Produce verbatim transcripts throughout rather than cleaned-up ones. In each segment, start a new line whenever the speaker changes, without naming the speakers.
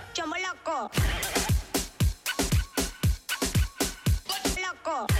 Chamo loco. Loco.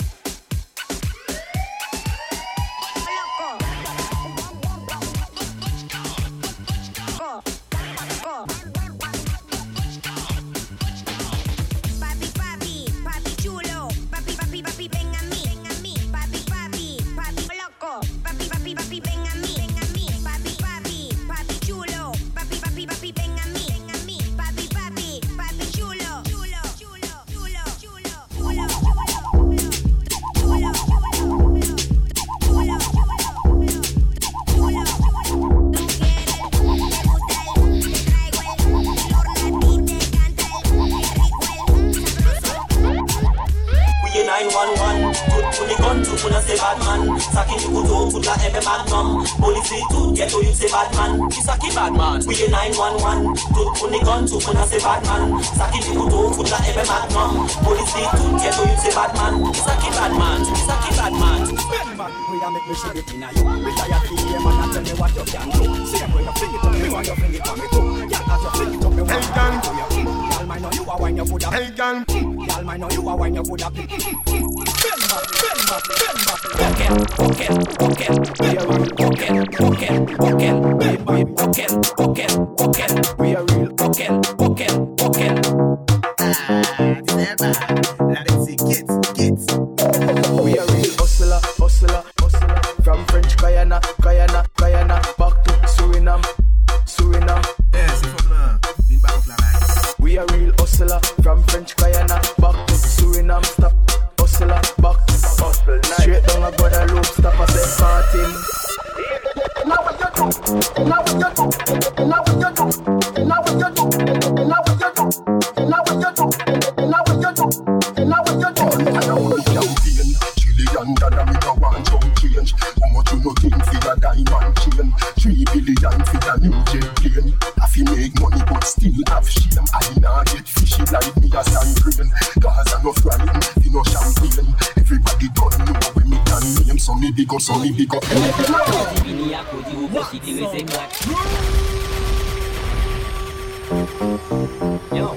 nine one one, put put the gun to put a say bad man. Saki the kuto put la ebe magnum. Police to get to you say bad man. You saki bad man. We the nine one one, put put the gun to put a say bad man. Saki the kuto put la ebe magnum. Police to get to you say bad man. You saki bad man. You saki bad man.
We a make me shit it inna you. We tired to hear man and tell me what you can do. Same way you fling it up, me want you fling it on me too. Yeah, as you fling it up, me want you fling it on you. Y'all might know you a wine, you coulda. Hey gang, y'all might know you a wine, you coulda. Bend back, bend back, bend back. Pocket, pocket, pocket. We a real pocket, pocket, pocket. Bend back, pocket, pocket, pocket. We a real pocket, pocket, pocket.
Ah, December. Now let's see kids, kids.
We a real hustler, hustler, hustler. From French Guyana, Guyana, Guyana, back to Suriname, Suriname.
Yes, from là, une barre la main.
We a real hustler. From French Guyana, back to Suriname. Stop, hustler, back to hustle. Straight down a Guadeloupe, stop at the party. Now what you do? Now what you do? Now what you do? Now what you do? Now what you do? Now what you do? Now what you do? Now what you do? I don't want champion. Trillion dollar me go want some change. How much you no think for a diamond chain? Three billion for a new jet plane. If you make money but still have shame, I nah get fishy like me a sand grain. Cause I no frying, you no champagne. Everybody don't know when me can name. So me big up, so me big up.
Yo,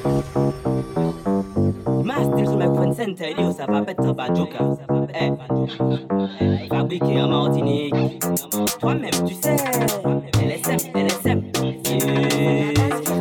Master sur microphone center, il dit ça va pas être pas joker. Eh, fabriqué en Martinique. Toi-même, tu sais, L S M, L S M. Yeah.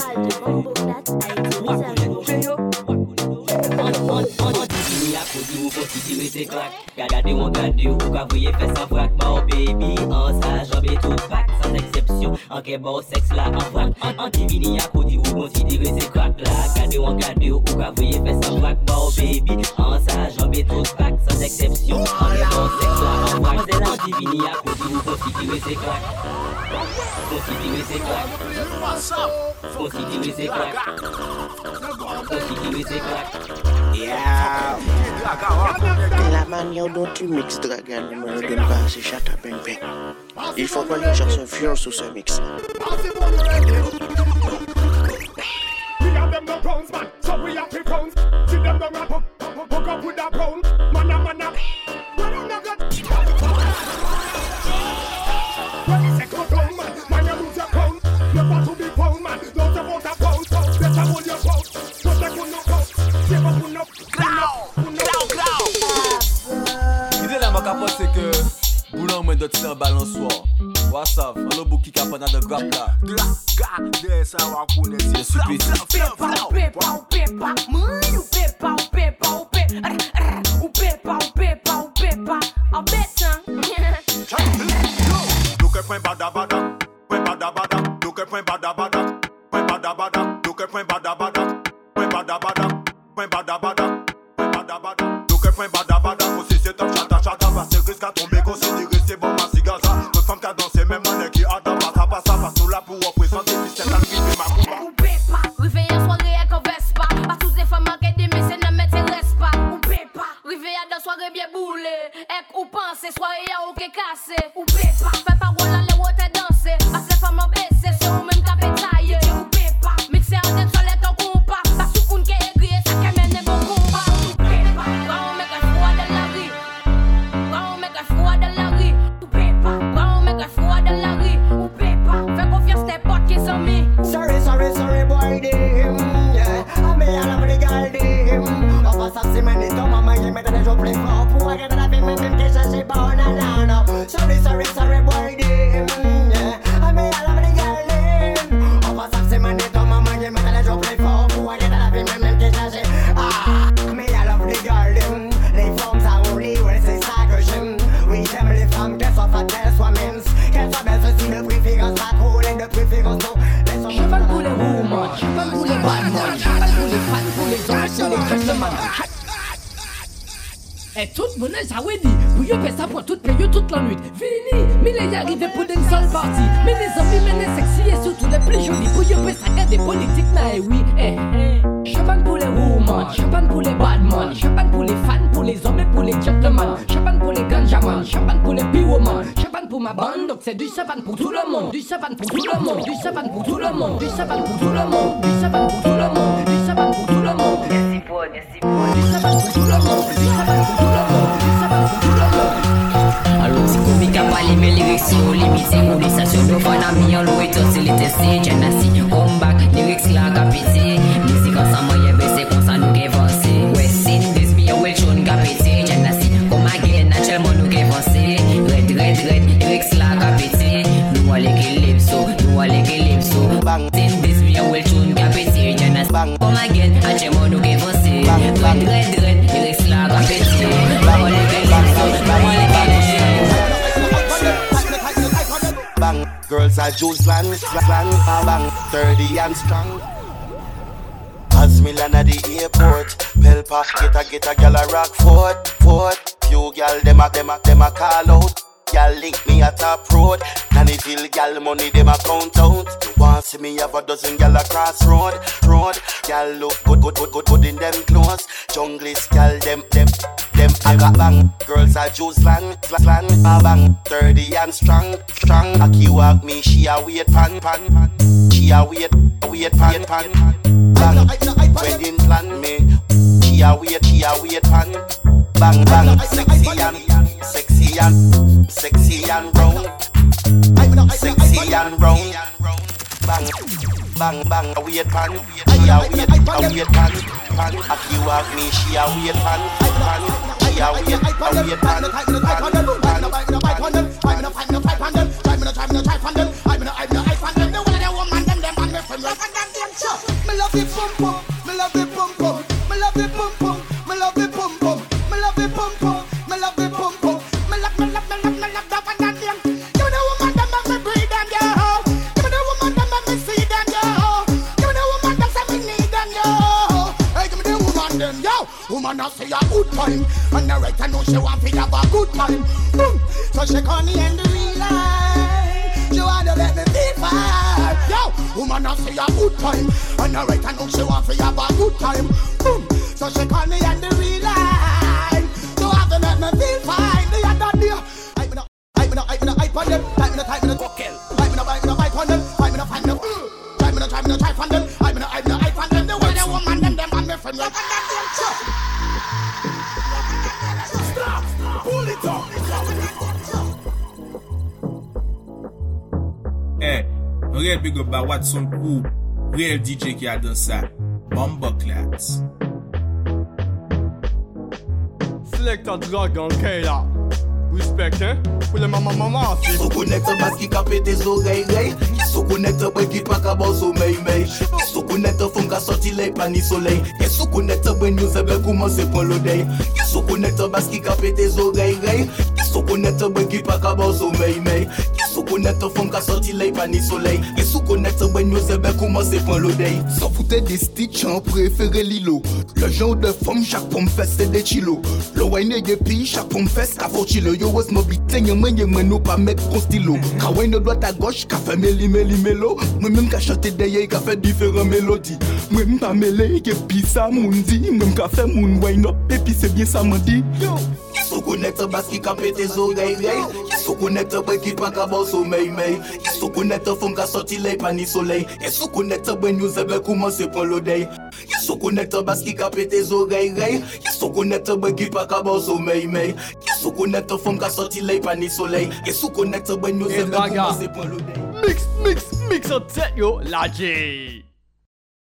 Regardez mon gardé ou qu'a voyez fait sans frac. Bon baby, en sa jambe et tout pack. Sans exception, en qu'est bon sexe là en frac. En divini à côté ou considérez ces crack là. Regardez mon gardé ou qu'a voyez fait sans frac. Bon baby, en sa jambe et tout pack. Sans exception, en qu'est bon sexe là en frac. En divini à côté ou considérez ces crack. Considérez ces crack. Considérez ces crack. Considérez ces crack.
Yeah.
La manière dont tu mixes Dragan, ne me donne pas assez chat à bang bang. Il faut pas les gens se fier sur ce mix.
We have them no grounds, man, so we have to grounds. See them down a hook, hook up with a pound. Man a man a, when you not got. When you say go down, man, man you lose your crown. You want to be pound, man, don't you want a pound? So better hold your pound, don't take one up pound. Give up one up, one up, one up.
L'idée là ma capote c'est que Boulan me doit tirer un balançoire. What's up? On a beaucoup qui capent dans de grappe là.
Regardez ça, on va connaître.
C'est super.
Pepa, pepa, pepa, mano, pepa, pepa, pepa, o pepa, o pepa, o pepa, a beta.
Look at point bada bada, point bada bada. Look at point bada bada, point bada bada. Look at point bada bada, point bada bada, point bada bada, point bada bada. Look at point bada bada. Aussi c'est top chata chata, parce que risque à tomber considéré c'est bon ma cigaza. Me femme qui a dansé même monnaie qui a dans pas ça pas ça, parce que nous là pour représenter puis c'est arrivé ma combat.
O pepa, rive en soirée avec un Vespa, pas tous les femmes qui des mais c'est ne m'intéresse pas. O pepa, rive à dans soirée bien boulée, et ou penser soirée à ou qui cassé. O pepa, fais pas rôle aller où t'es dansé, parce que les femmes baissées sur ou même capé taillé. O pepa, mixer en tête sur les temps compas, parce que une qui est gris ça qui mène bon combat. O pepa, on met un froid dans la vie, on met un froid
Et tout le monde ça oui dit, pour yo faire ça pour toute paye toute la nuit. Fini, mais les arrivé pour d'une seule partie. Mais les hommes, mais les sexy et surtout les plus jolis. Pour yo faire ça des politiques, mais oui, eh, eh. Champagne pour les women, champagne pour les bad men, champagne pour les fans, pour les hommes et pour les gentlemen, champagne pour les ganjaman, champagne pour les b-women, champagne pour ma bande, donc c'est du champagne pour tout le monde, du champagne pour tout le monde, du champagne pour tout le monde, du champagne pour tout le monde, du champagne pour tout le monde, du champagne pour tout le monde. Merci pour, merci pour, du champagne pour tout le monde, du champagne pour tout le monde, du champagne pour tout le monde.
Alors si comique a parlé mes lyrics si on limite ou les stations de fan amis en loué tout c'est les testés Genasi come back lyrics la capité musique ensemble y'a baissé comme ça nous avancé West Sin this be a well shown capité Genasi come again naturellement nous avancé red red red lyrics la capité nous allez calypso nous allez calypso bang Sin this be a well shown capité Genasi come again naturellement nous avancé red red red lyrics la capité nous allez calypso nous allez calypso
bang, girls are juice land, land, bang, thirty and strong. As me land at the airport, Pelpa get a get a gal a rock fort, fort. Few gal dem a dem a dem a call out. Gal link me at top road, Nannyville gal money dem a count out. You want see me have a dozen gal across road, road. Gal look good, good, good, good, good in them clothes. Junglist gal them them. Them I got bang, girls are juice land, land, bang, thirty and strong, strong. Aki walk me, she a wait pan, pan, pan. She a wait, wait pan, pan. Bang, wedding plan me. She a wait, she a wait pan. Bang, bang, sexy and, sexy and, sexy and round, sexy and round. Bang, bang, bang, a wait pan. She a wait, a wait pan, pan. Aki walk me, she a wait pan, pan. Yeah, we get I we get pan, pan, pan, pan, pan, pan. I'm in a fight, no fight on them. I'm in a try, no try on them. I'm in a, I'm in a hype on them. The way they woman them, them and me from rock and them them chop. Me love it pum pum, me love it pum pum, me love it pum pum, me love it pum pum, me love it pum pum, me love it pum pum, me love, me love, me love, me love that and them. Give me the woman them and me breed them, yo. Give me the woman them and me see them, yo. Give me the woman them and me need them, yo. Hey, give me the woman them, yo. Woman I say a good time. And the right I know she want to have a good time. Boom. So she call me and the real life. She want to let me feel fine. Yo, woman I say a good time. And the right I know she want to have a good time. Boom. So she call me and the real life. She want to let me feel fine. The other day, I'm in a, I'm in a, I'm in a hype on them. I'm in a, I'm in a cocktail. I'm in a, I'm in a hype on them. I'm in a, I'm in a, I'm in a, I'm in a hype on them. I'm in a, I'm in a hype on them. The way the woman them, them and me friend like that. Stop! Pull it up!
Eh, un real big up by Watson Cool, real D J qui a dans ça, Bumbleclats.
Selector Dragon Kayla. Respect, hein? Pour les maman maman, c'est.
Qui se connecte parce qu'il capte tes oreilles, qui se connecte parce qu'il pas qu'à bon sommeil, mais qui se connecte font qu'à sortir les pas ni soleil, qui se connecte ben nous c'est bien commencer pour l'odeille, qui se connecte parce qu'il capte tes oreilles, qui se connecte ben qu'il pas qu'à bon sommeil, mais qui se connecte font qu'à sortir les pas ni soleil, qui se connecte ben nous c'est bien commencer pour l'odeille. Sans foutre des stitch en préféré Lilo, le genre de femme chaque pomme fait c'est des chilos, le wine et puis chaque pomme fait qu'à faut chilo. Yo was mo bitin yo men yo men no pa mettre con stylo. Ka wè no droite à gauche, ka fait meli meli melo. Moi même ka chanter derrière, ka fait différentes mélodies. Moi même pas mêler, que puis ça moun dit. Même ka fait moun wine up, et puis c'est bien ça me dit. Yo, qui se connecte parce qu'il capte tes oreilles, qui se connecte parce qu'il pas qu'à bon sommeil, mais qui se connecte font qu'à sortir les pas ni soleil. Qui se connecte ben nous c'est bien commencer pour l'odeille. Qui se connecte parce qu'il capte tes oreilles, qui se connecte ben qu'il pas qu'à bon sommeil, mais qui se connecte font qu'à sortir les pas ni soleil. Qui se connecte ben nous c'est bien commencer pour l'odeille.
Mix, mix, mix en tête yo, la J.